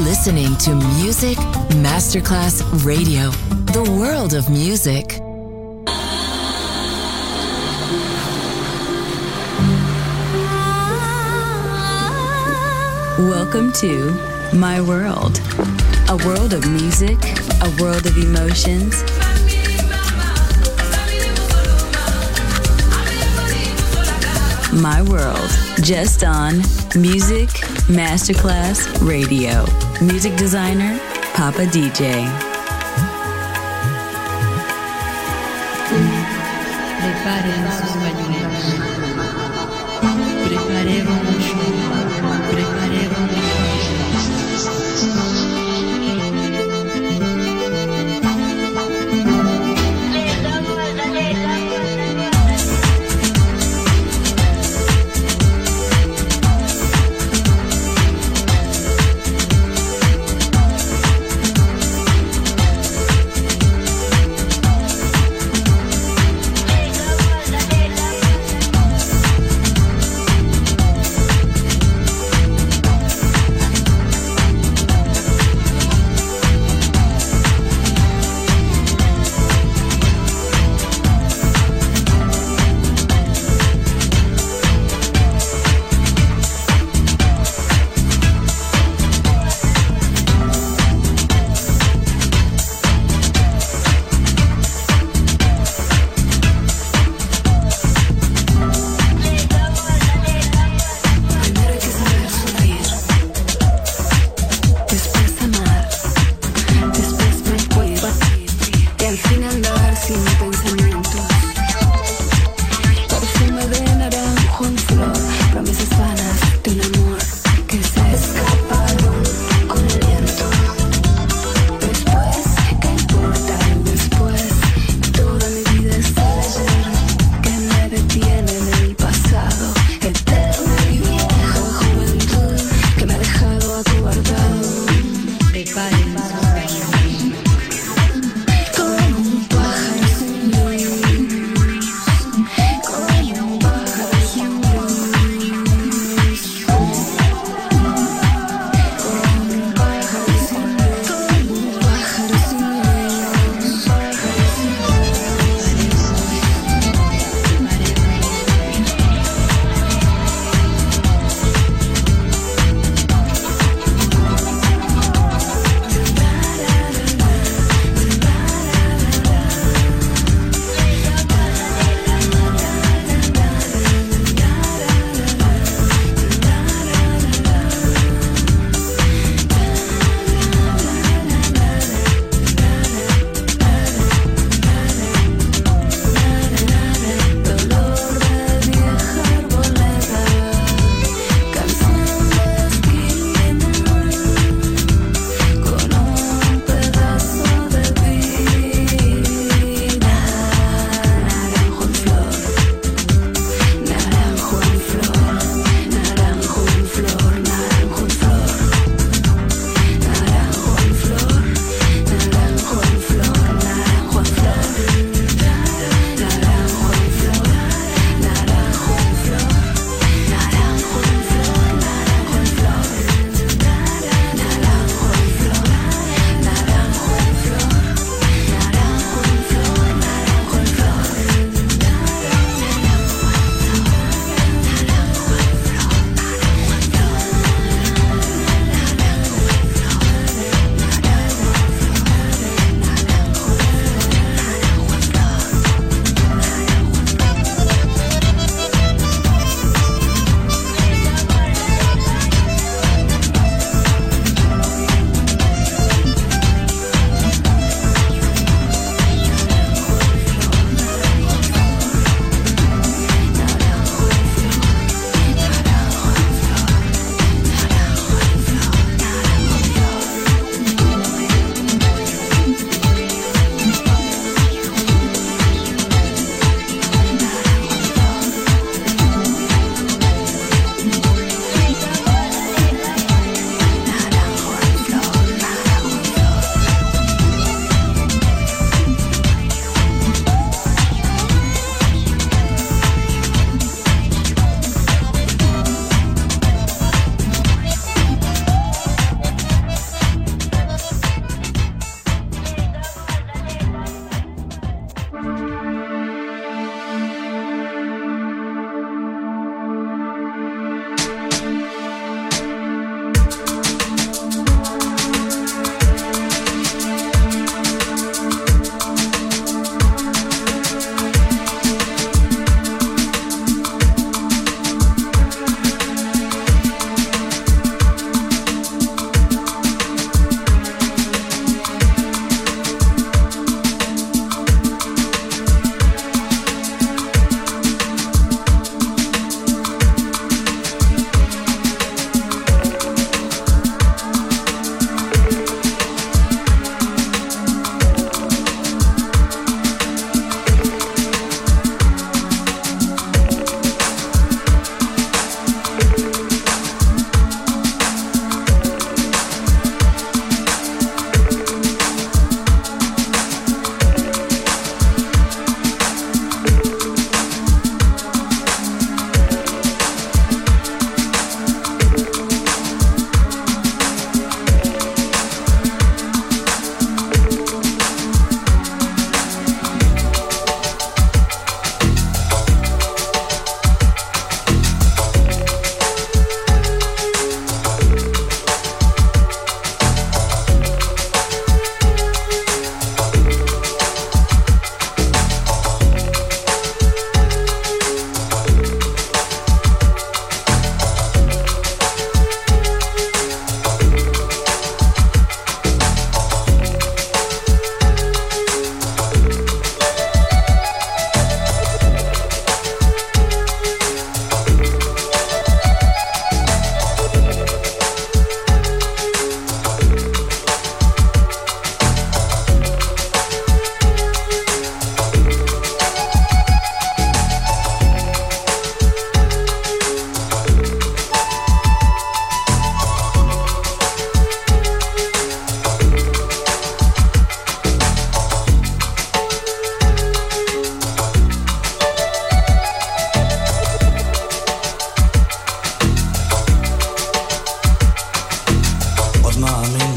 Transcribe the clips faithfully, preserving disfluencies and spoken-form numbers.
listening to Music Masterclass Radio, the world of music. Welcome to My World, a world of music, a world of emotions. My World, just on Music Masterclass Radio. Music designer, Papa D J. Preparen sus pañuelos. Preparemos un show. Preparemos un show. Hey,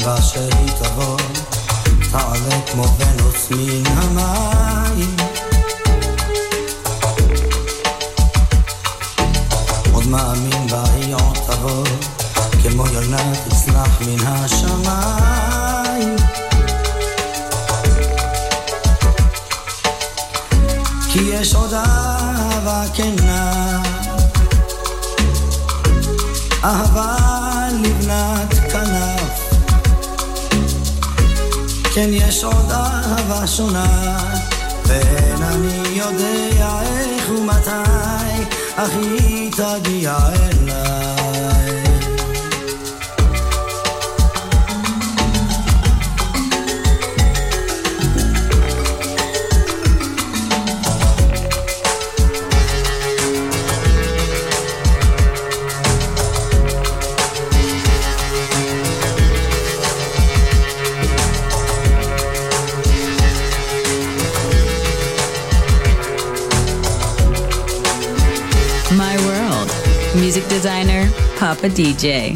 תקווה שהיא תבוא, תעלה כמו ונוס מן המים. עוד מאמין בה היא עוד תבוא, כמו יונה תצנח מן השמיים. כי יש עוד אהבה כנה, אהבה לבנת כנף. כן יש עוד אהבה שונה, ואין אני יודע איך ומתי, אך היא תגיע אליי. Music designer, Papa D J.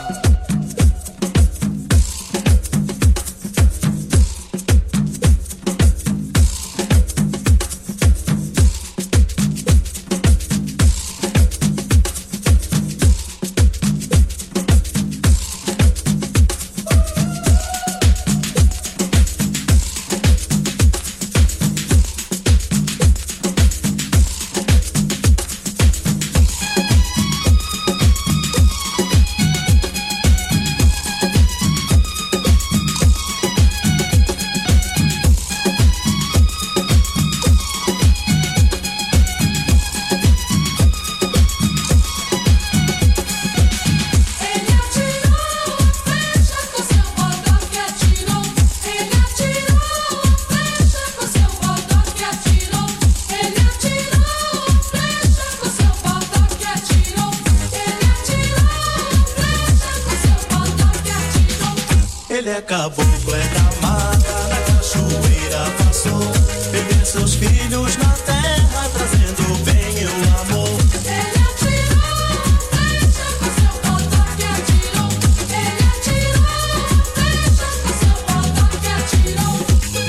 Caboclo é da mata, na cachoeira passou, beber seus filhos na terra, trazendo o bem e o amor. Ele atirou, flecha com seu bodoque atirou. Ele atirou, flecha com seu bodoque atirou.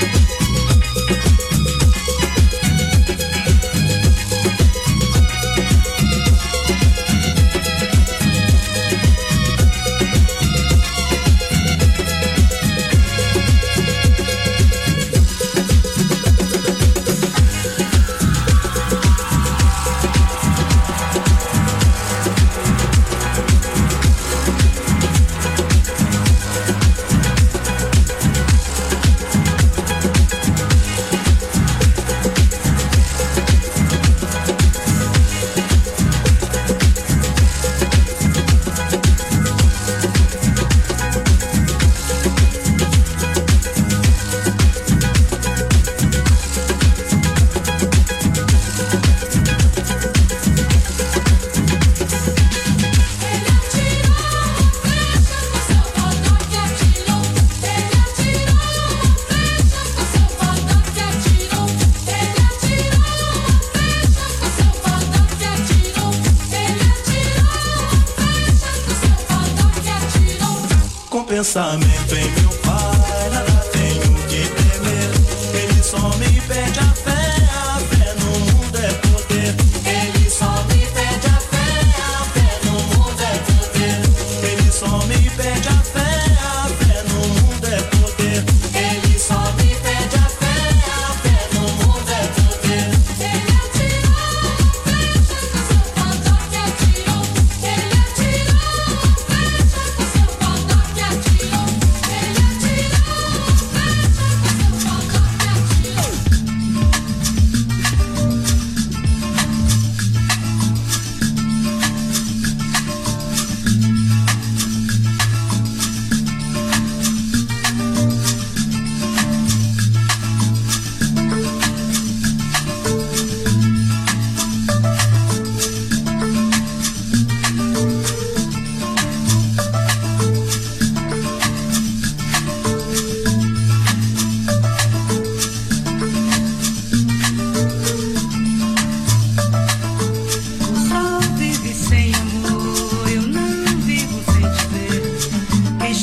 Pensamento em meu pai, nada tenho que temer. Ele só me pede a fé, a fé no mundo é poder. Ele só me pede a fé, a fé no mundo é poder. Ele só me pede a fé, a fé no mundo é poder. Ele só me pede a fé, a fé no mundo é poder. Ele atirou, flecha com seu bodoque atirou. Ele atirou, flecha com seu bodoque atirou. Ele atirou, flecha com seu bodoque atirou.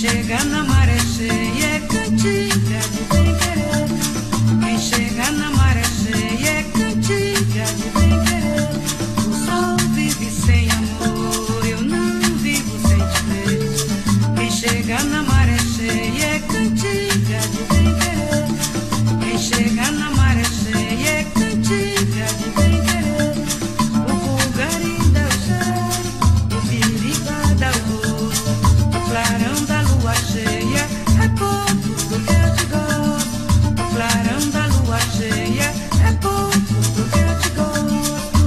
chega na maré cheia é cantiga de bem querer. Quem chega na maré cheia é cantiga de bem querer. O sol vive sem amor, eu não vivo sem te ver. Quem chega na maré cheia é cantiga de bem querer. Quem chega na maré cheia é cantiga de bem querer. O vulgarim dá o cheiro, o piriba dá o gosto, o clarão da lua cheia é pouco do que eu te gosto. O clarão da lua cheia é pouco do que eu te gosto.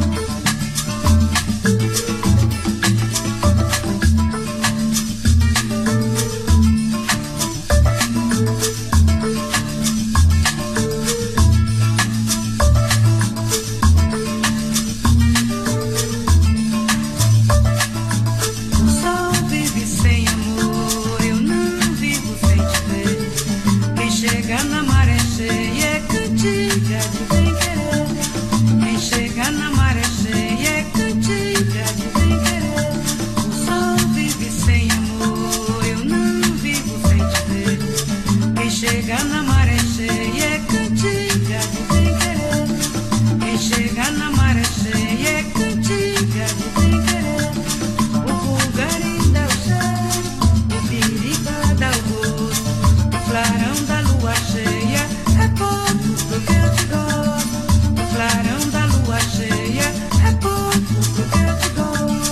O sol vive sem amor, eu não vivo sem te ver. Quem chega na maré cheia é cantiga de bem querer. Quem chega na maré cheia é cantiga de bem querer. O sol vive sem amor, eu não vivo sem te ver. Quem chega na maré cheia é cantiga de bem querer. Quem chega na maré cheia é cantiga de bem querer. O vulgarim dá o cheiro, o piriba dá o gosto, o clarão da lua cheia é pouco do que eu te gosto. O clarão da lua cheia é pouco do que eu te gosto.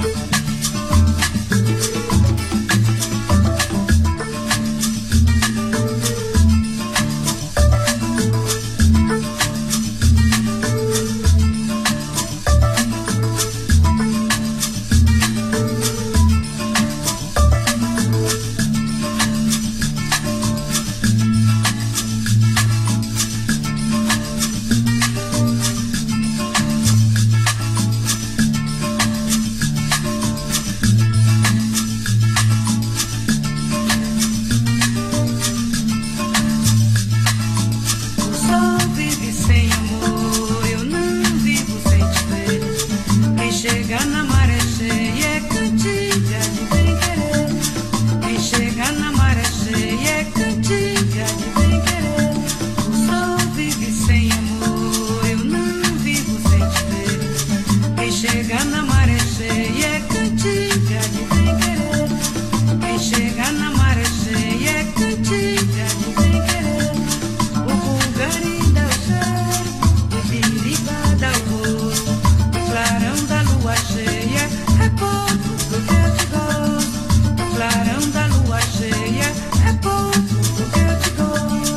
O sol vive sem amor, eu não vivo sem te ver. Quem chega na maré cheia é cantiga de bem querer. Quem chega na maré cheia é cantiga de bem querer. O sol vive sem amor, eu não vivo sem te ver. Quem chega na maré cheia é cantiga de bem querer. Quem chega na maré cheia é cantiga de bem querer. O vulgarim dá o cheiro, o piriba dá o gosto, o clarão da lua cheia é pouco do que eu te gosto. O clarão da lua cheia é pouco do que eu te gosto.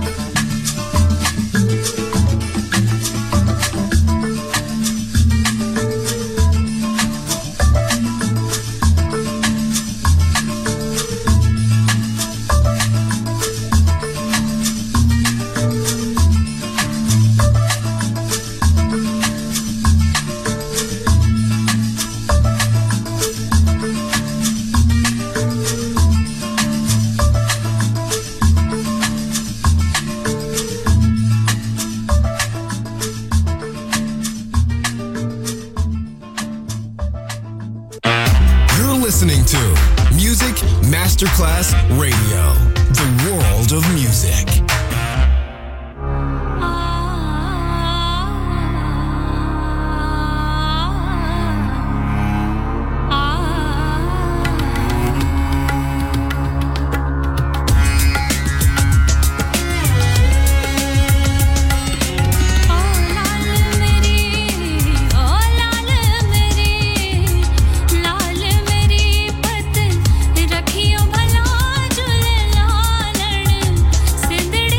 You're listening to Music Masterclass Radio, the world of music. ओ लाल मेरी, ओ लाल मेरी, लाल मेरी पत रखियो भला झूल लालण, Sindhri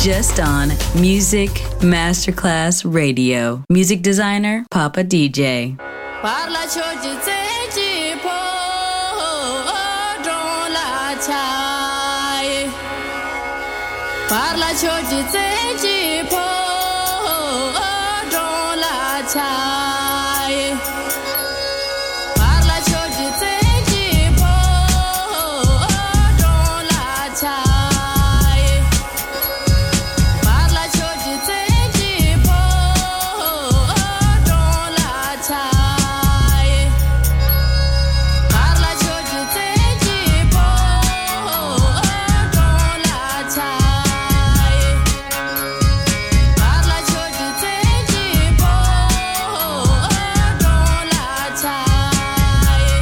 Just on Music Masterclass Radio. Music designer, Papa D J. Parla choji tseji po don la chai. Parla choji tseji po don la chai. Parla choji tseji po don la chai. Parla choji tseji po don la chai. Parla choji tseji po don la chai. Parla choji tseji po don la chai.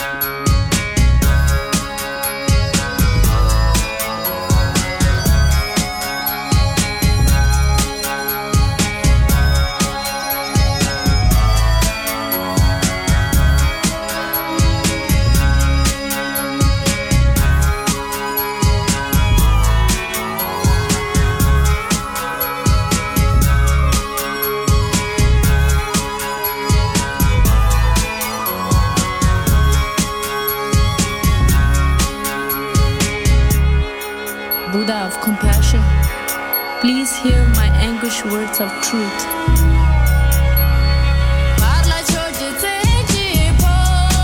Buddha of compassion, please hear my anguished words of truth. Parla choji tseji po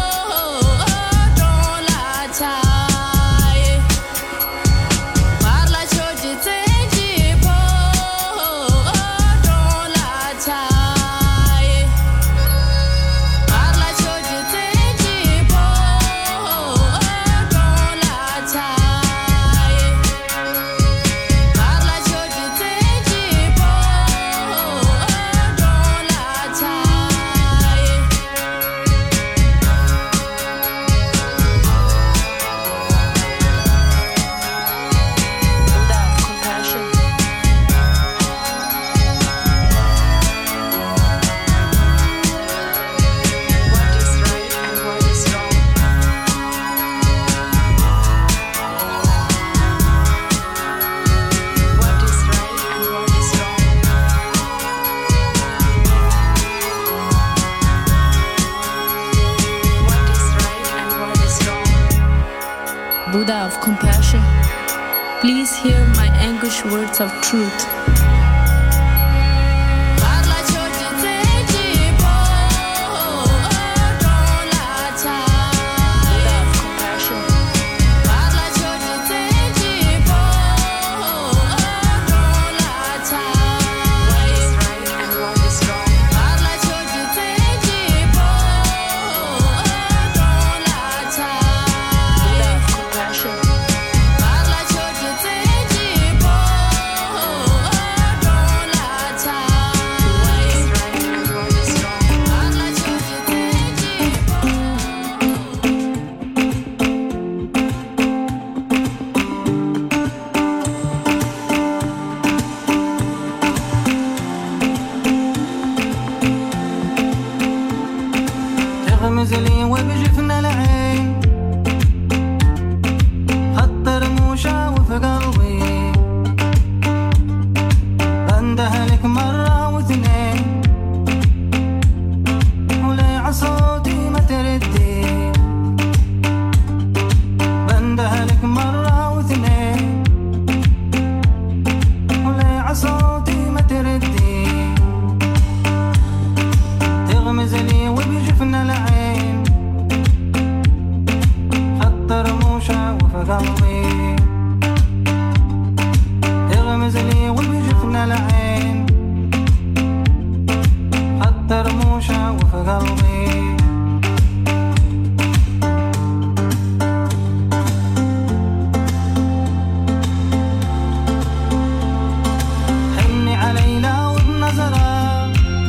don la chai. Parla choji tseji po don la chai. Parla choji tseji po don la chai. Parla choji tseji po don la chai. Buddha of compassion. What is right and what is wrong? What is right and what is wrong? What is right and what is wrong? Buddha of compassion, please hear my anguished words of truth. Parla choji tseji po don la chai. Buddha of compassion. Parla choji tseji po don la chai. What is right and what is wrong? Parla choji tseji po don la chai. Buddha of compassion. Parla choji tseji po don la chai. What is right and what is wrong? Parla choji tseji po. تغمز لي وبجفنا العين خط رموشة وفي قلبي بندهلك مرة واثنين ولي عصوتي ما تردي بندهلك مرة واثنين ولي عصوتي ما تردي تغمز لي وبجفنا العين خط رموشة وفي قلبي تغمز لي وبجفنا العين خط رموشة وفي قلبي حني علي لو بنظرة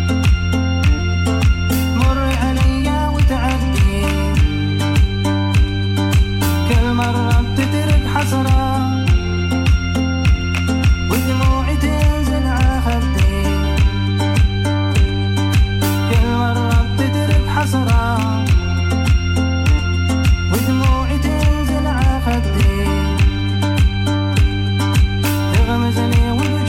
مري عليا وتعدي كل مرة بتترك حسرة ودموعي تنزل على خدي كل مرة بتترك حسرة ودموعي تنزل على خدي تغمز لي وبجفنا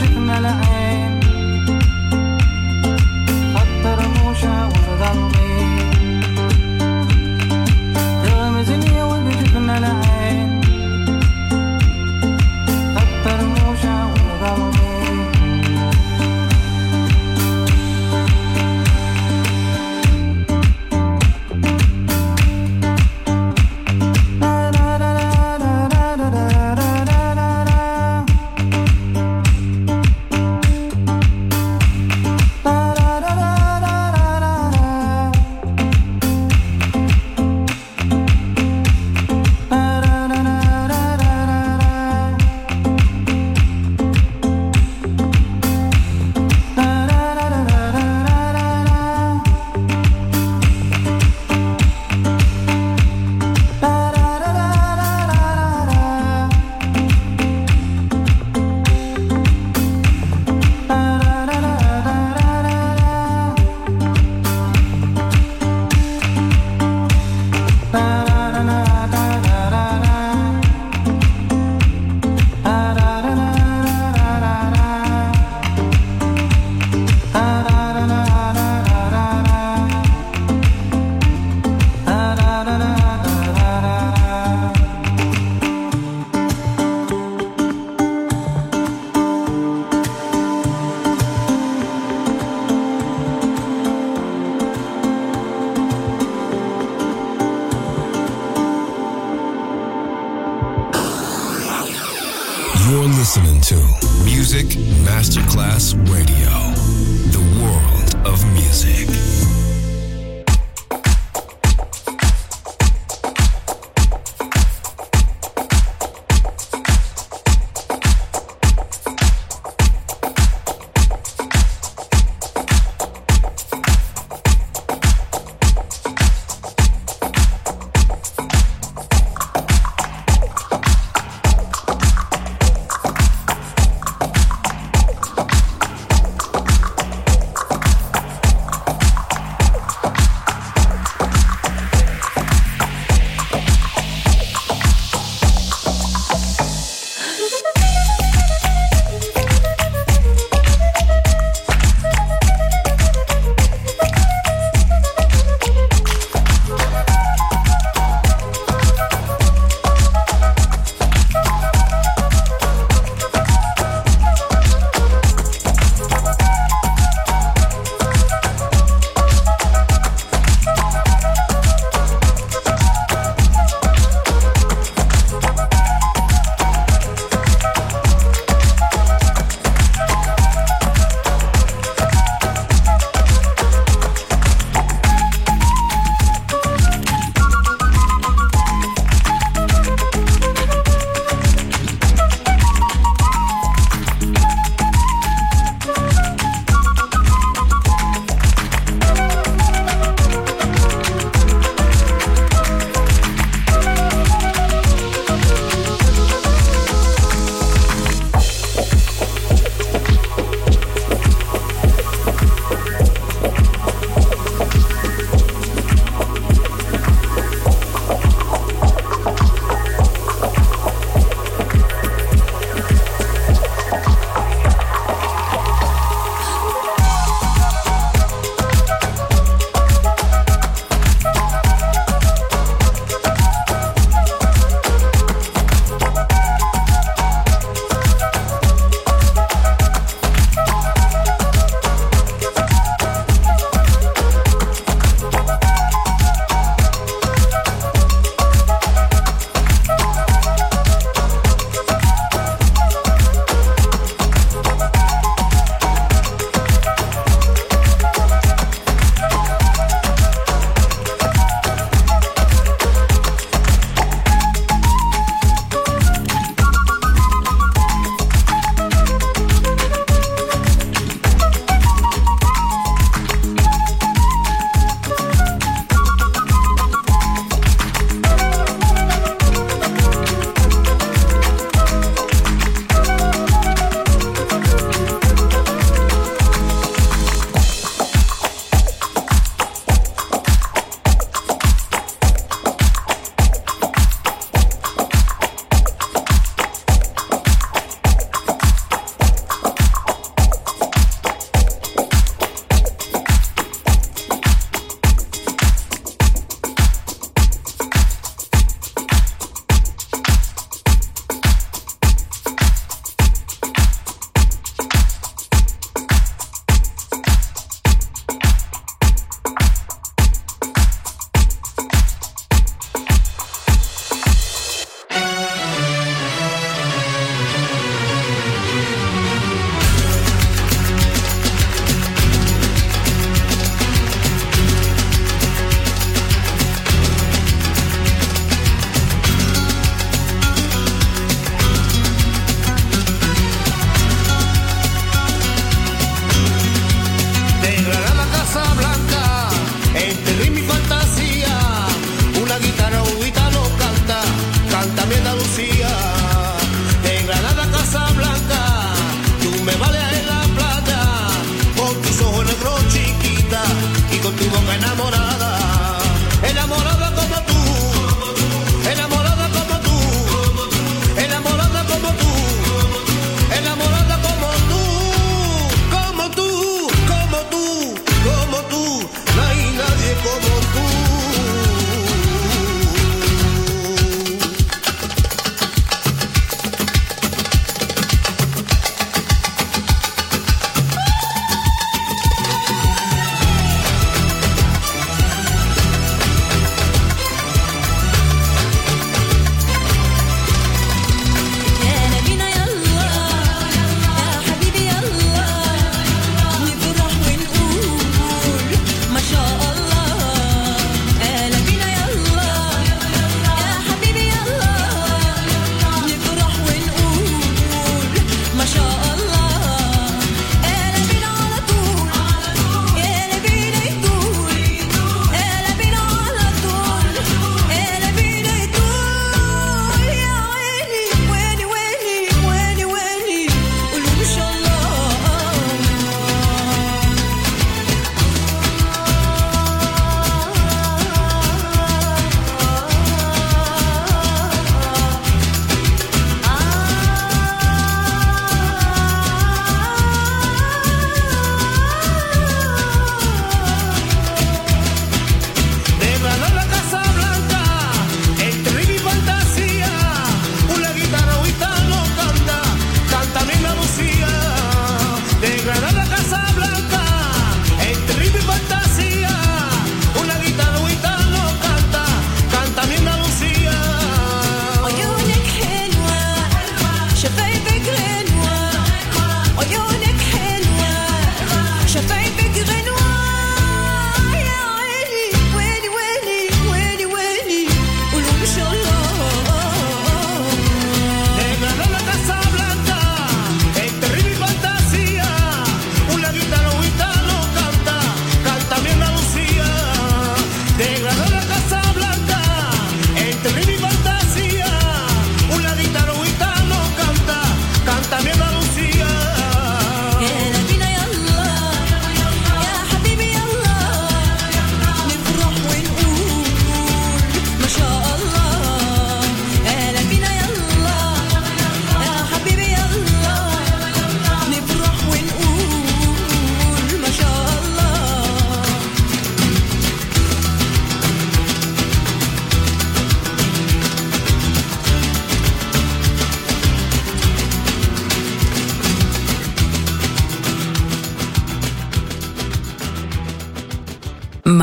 listening to Music Masterclass Radio, the world of music.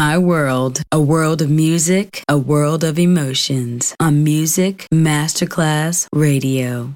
My world, a world of music, a world of emotions. On Music Masterclass Radio.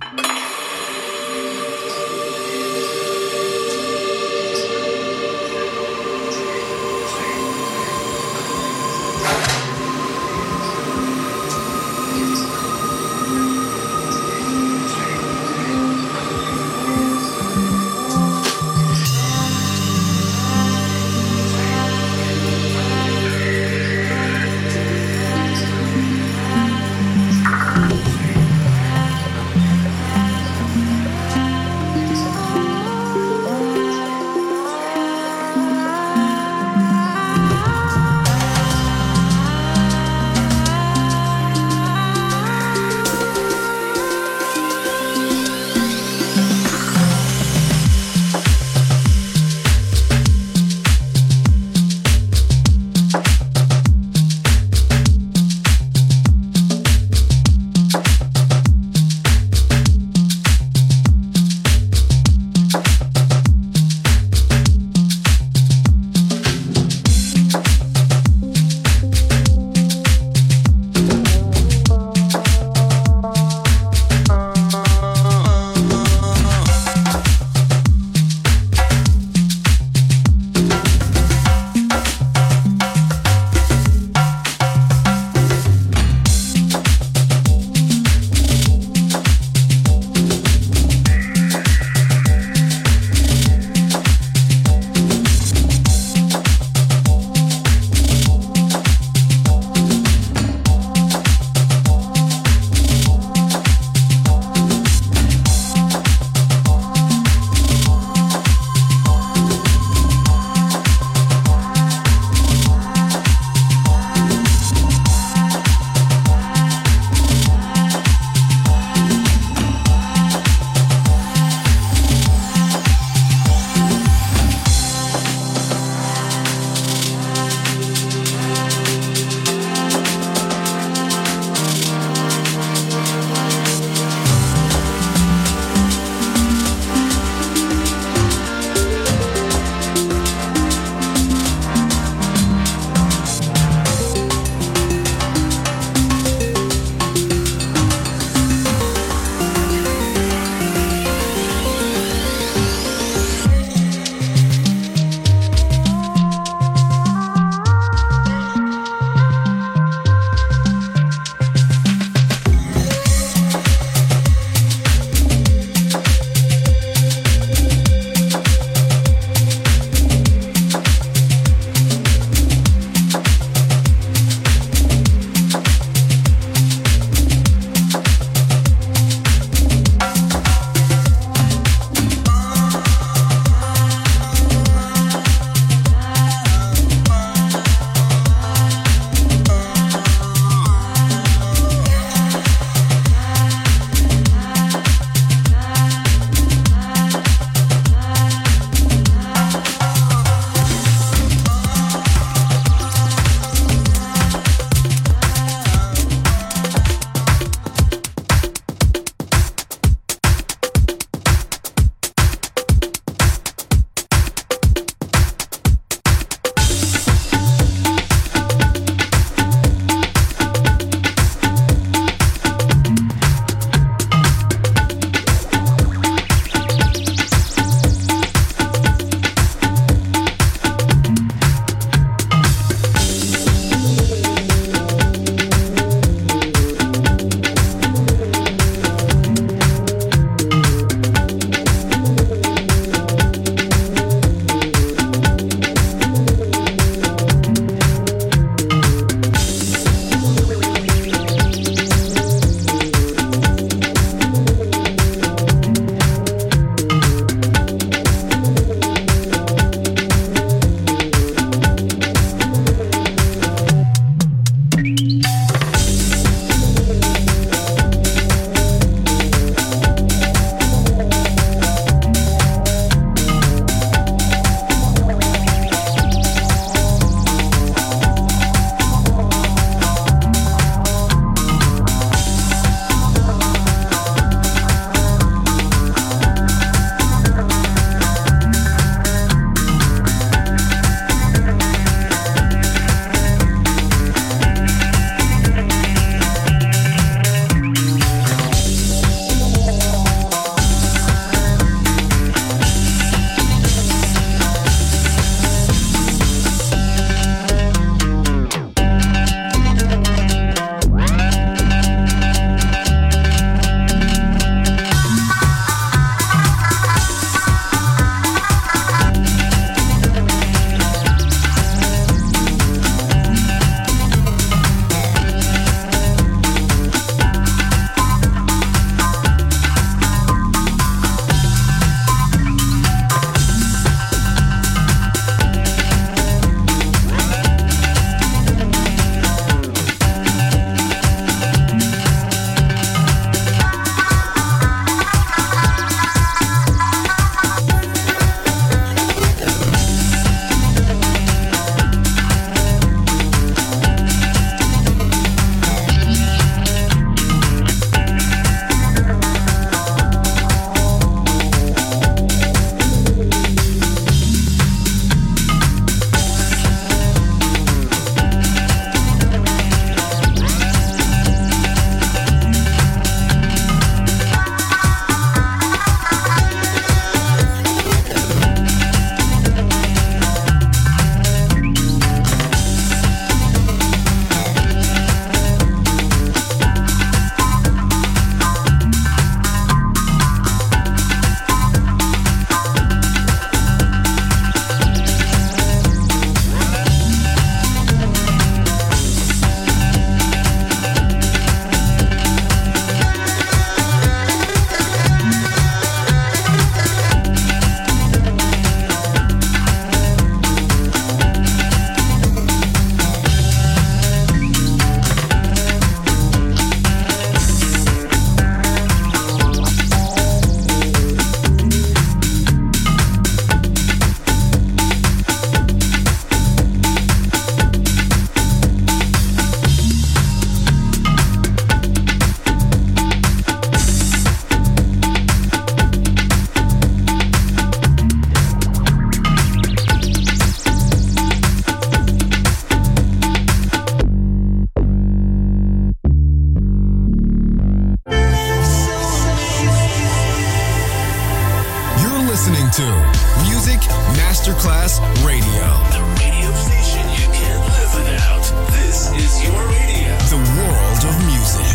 Masterclass Radio. The radio station you can't live without. This is your radio. The world of music.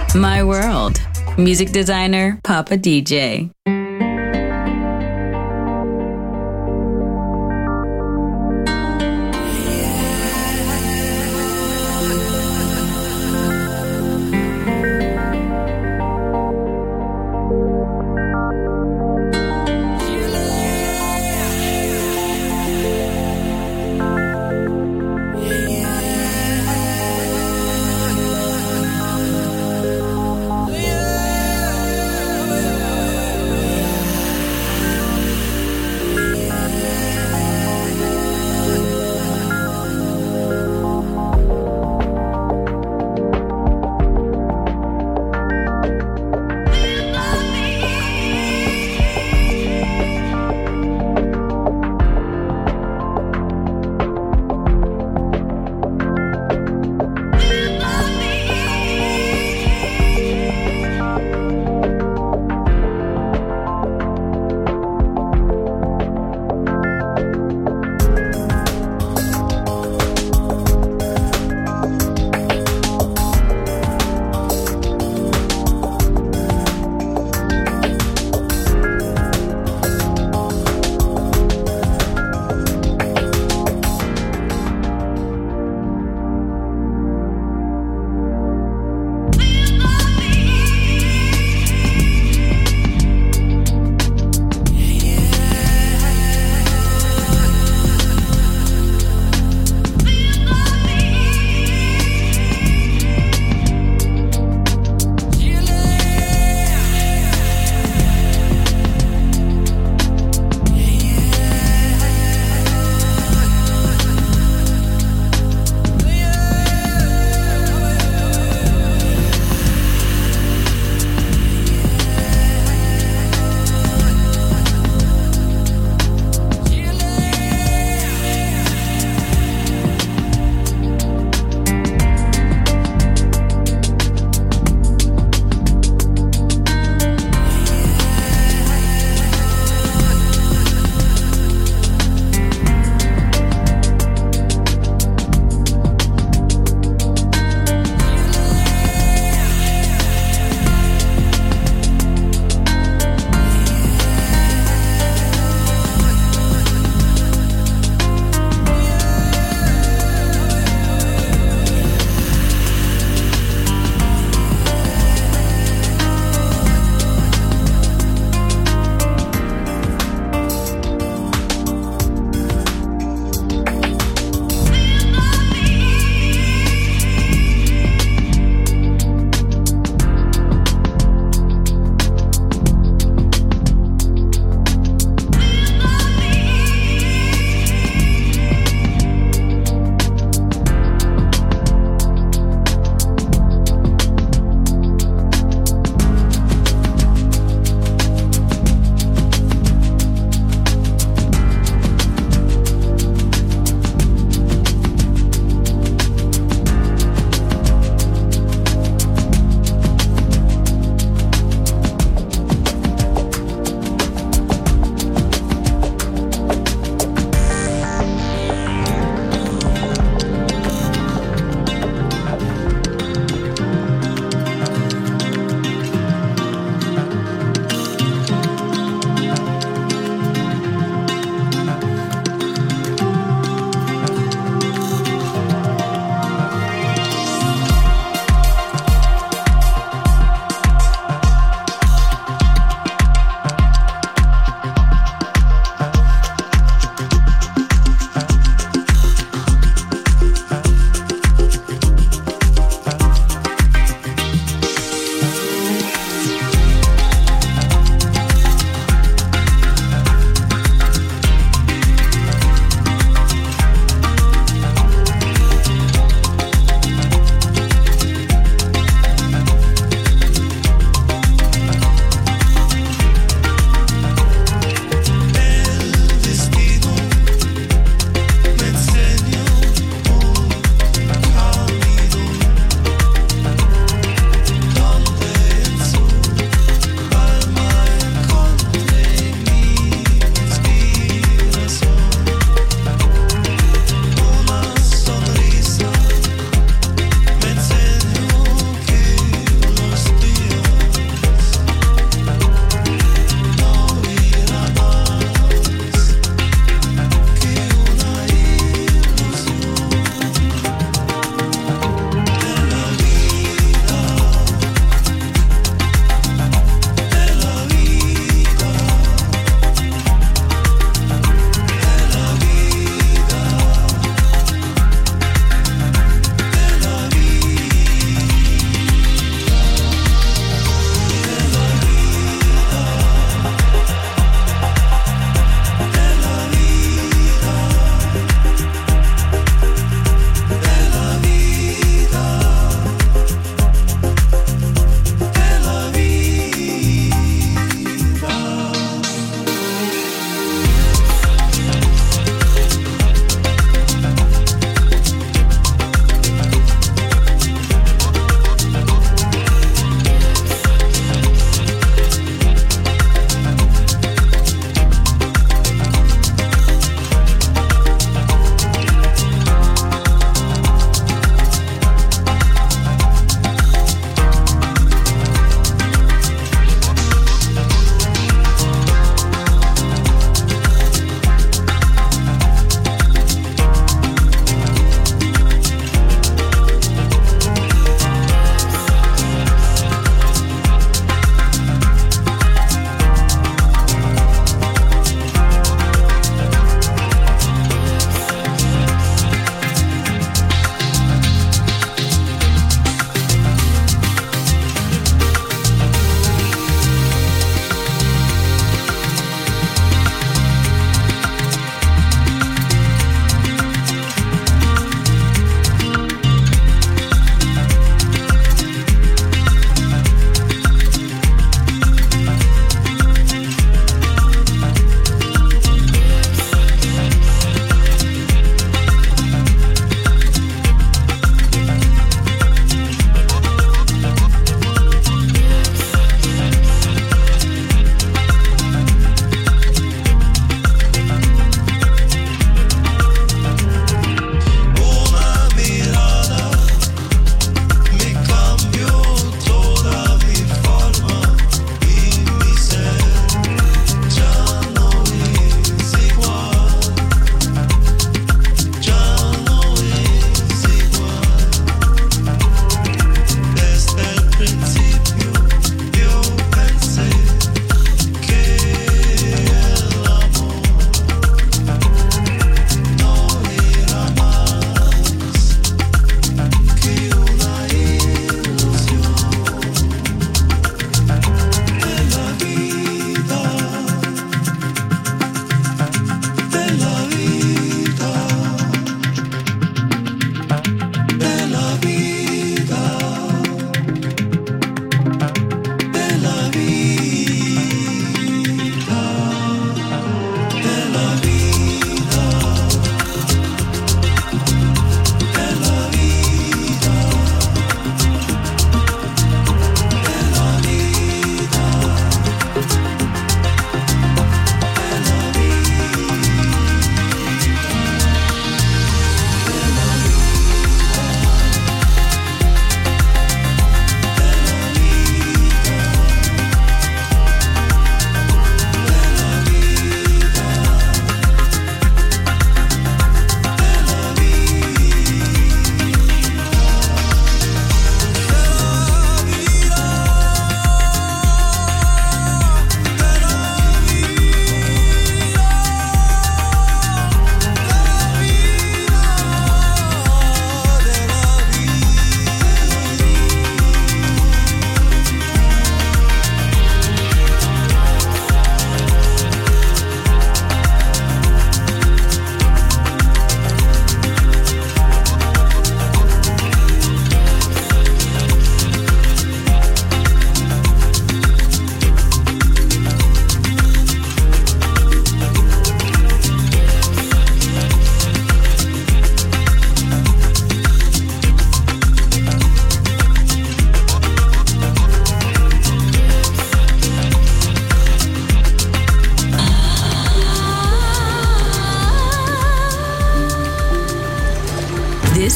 My world. Music designer Papa D J. Yeah.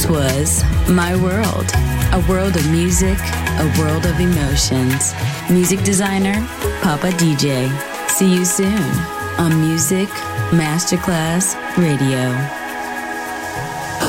This was My World, a world of music, a world of emotions. Music designer, Papa D J. See you soon on Music Masterclass Radio.